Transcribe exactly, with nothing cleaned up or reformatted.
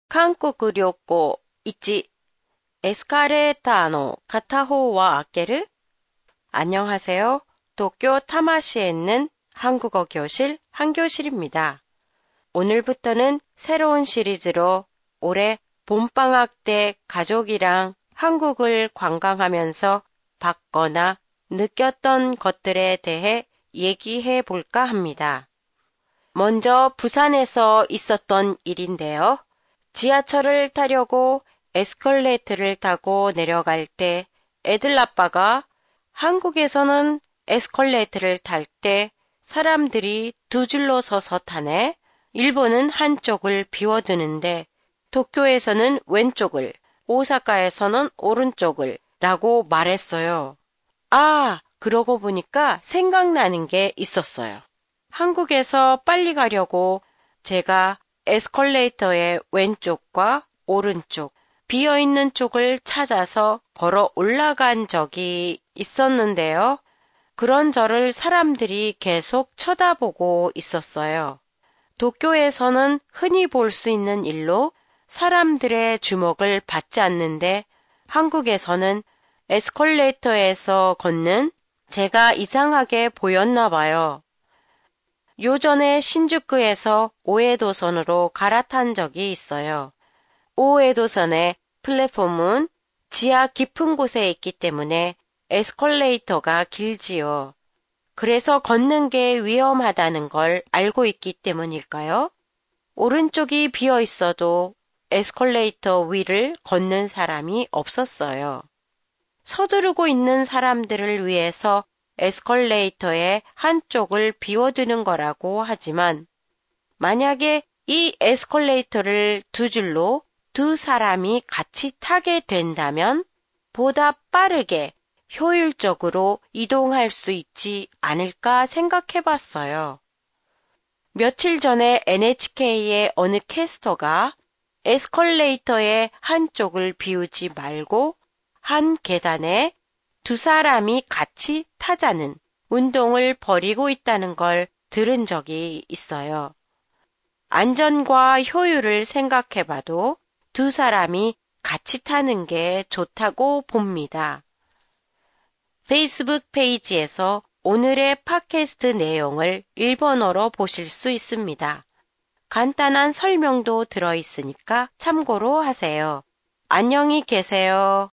韓国旅行いち、エスカレーターの片方は開ける? 안녕하세요. 도쿄 타마시에 있는 한국어 교실 한교실입니다. 오늘부터는 새로운 시리즈로 올해 봄방학 때 가족이랑 한국을 관광하면서 봤거나 느꼈던 것들에 대해 얘기해 볼까 합니다. 먼저 부산에서 있었던 일인데요. 지하철을 타려고 에스컬레이터를 타고 내려갈 때 애들 아빠가 한국에서는 에스컬레이터를 탈 때 사람들이 두 줄로 서서 타네. 일본은 한쪽을 비워두는데 도쿄에서는 왼쪽을, 오사카에서는 오른쪽을 라고 말했어요. 아, 그러고 보니까 생각나는 게 있었어요. 한국에서 빨리 가려고 제가 에스컬레이터의 왼쪽과 오른쪽, 비어있는 쪽을 찾아서 걸어 올라간 적이 있었는데요. 그런 저를 사람들이 계속 쳐다보고 있었어요. 도쿄에서는 흔히 볼 수 있는 일로 사람들의 주목을 받지 않는데 한국에서는 에스컬레이터에서 걷는 제가 이상하게 보였나 봐요. 요전에 신주쿠에서 오에도선으로 갈아탄 적이 있어요. 오에도선의 플랫폼은 지하 깊은 곳에 있기 때문에 에스컬레이터가 길지요. 그래서 걷는 게 위험하다는 걸 알고 있기 때문일까요? 오른쪽이 비어 있어도 에스컬레이터 위를 걷는 사람이 없었어요. 서두르고 있는 사람들을 위해서 에스컬레이터의 한쪽을 비워두는 거라고 하지만 만약에 이 에스컬레이터를 두 줄로 두 사람이 같이 타게 된다면 보다 빠르게 효율적으로 이동할 수 있지 않을까 생각해 봤어요. 며칠 전에 엔에이치케이의 어느 캐스터가 에스컬레이터의 한쪽을 비우지 말고 한 계단에 두 사람이 같이 타자는 운동을 벌이고 있다는 걸 들은 적이 있어요. 안전과 효율을 생각해 봐도 두 사람이 같이 타는 게 좋다고 봅니다. 페이스북 페이지에서 오늘의 팟캐스트 내용을 일본어로 보실 수 있습니다. 간단한 설명도 들어 있으니까 참고로 하세요. 안녕히 계세요.